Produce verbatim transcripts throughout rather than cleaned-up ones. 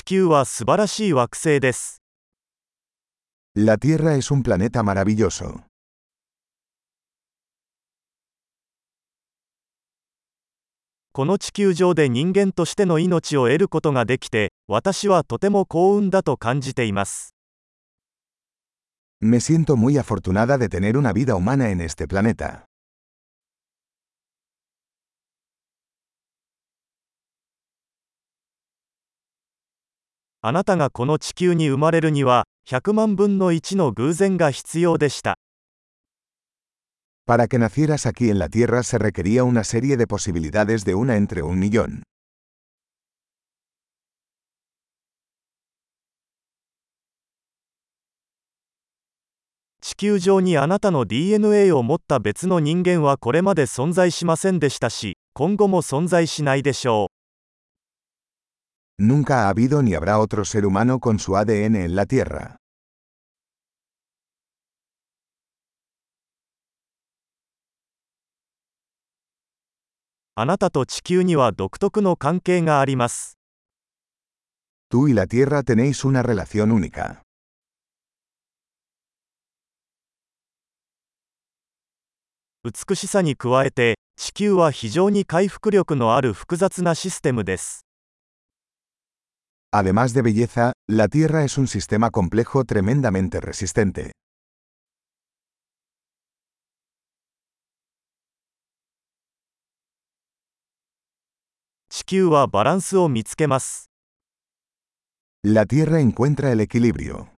球は素晴らしい惑星です。 La Tierra es un planeta maravilloso. この地球上で人間としての命を得ることができて、私はとても幸運だと感じています。 Me siento muy afortunada de tener una vida humana en este planeta. あなたがこの地球に生まれるには、ひゃくまんぶんのいちの偶然が必要でした。 Para que nacieras aquí en la Tierra se requería una serie de posibilidades de una entre un millón. 地球上にあなたの ディーエヌエー を持った別の人間はこれまで存在しませんでしたし、今後も存在しないでしょう。 Nunca ha habido ni habrá otro ser humano con su A D N en la Tierra. あなたと地球には独特の関係があります。 Tú y la Tierra tenéis una relación única. 美しさに加えて、地球は非常に回復力のある複雑なシステムです。 Además de belleza, la Tierra es un sistema complejo tremendamente resistente. 地球はバランスを見つけます。 La Tierra encuentra el equilibrio.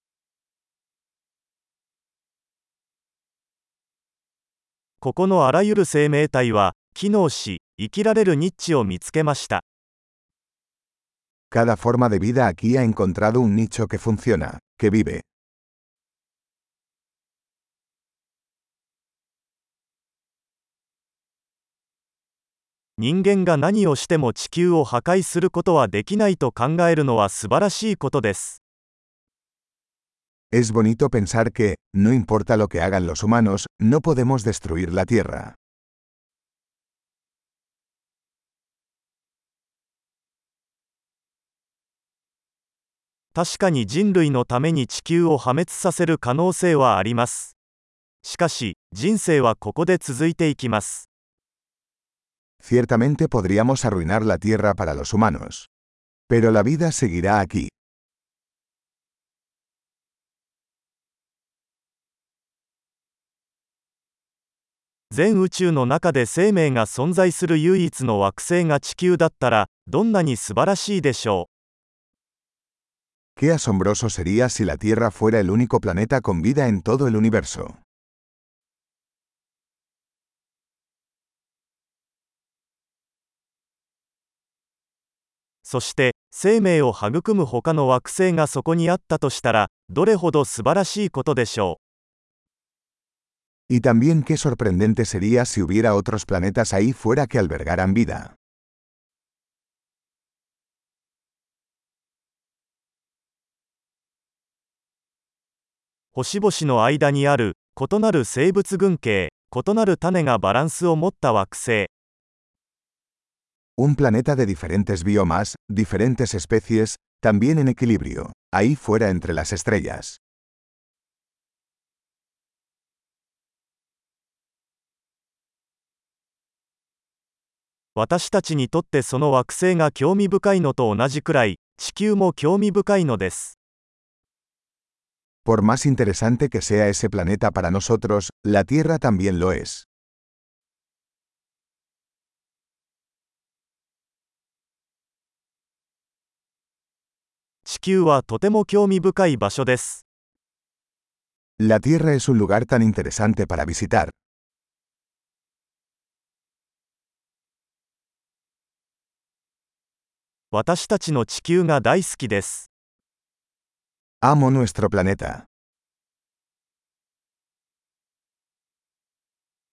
ここのあらゆる生命体は、機能し、生きられるニッチを見つけました。 Cada forma de vida aquí ha encontrado un nicho que funciona, que vive. 人間が何をしても地球を破壊することはできないと考えるのは素晴らしいことです。 Es bonito pensar que, no importa lo que hagan los humanos, no podemos destruir la Tierra. 確かに人類のために地球を破滅させる可能性はあります。しかし、人生はここで続いていきます。 Ciertamente podríamos arruinar la Tierra para los humanos. Pero la vida seguirá aquí. 全宇宙の中で生命が存在する唯一の惑星が地球だったら、どんなに素晴らしいでしょう。 Qué asombroso sería si la Tierra fuera el único planeta con vida en todo el universo. そして、生命を育む他の惑星がそこにあったとしたら、どれほど素晴らしいことでしょう。 Y también qué sorprendente sería si hubiera otros planetas ahí fuera que albergaran vida. 星々の間にある異なる生物群系、異なる種がバランスを持った惑星。 Un planeta de diferentes biomas, diferentes especies, también en equilibrio, ahí fuera entre las estrellas. 私たちにとってその惑星が興味深いのと同じくらい、地球も興味深いのです。 Por más interesante que sea ese planeta para nosotros, la Tierra también lo es. 地球はとても興味深い場所です。 La Tierra es un lugar tan interesante para visitar. 私たちの地球が大好きです。 Amo nuestro planeta.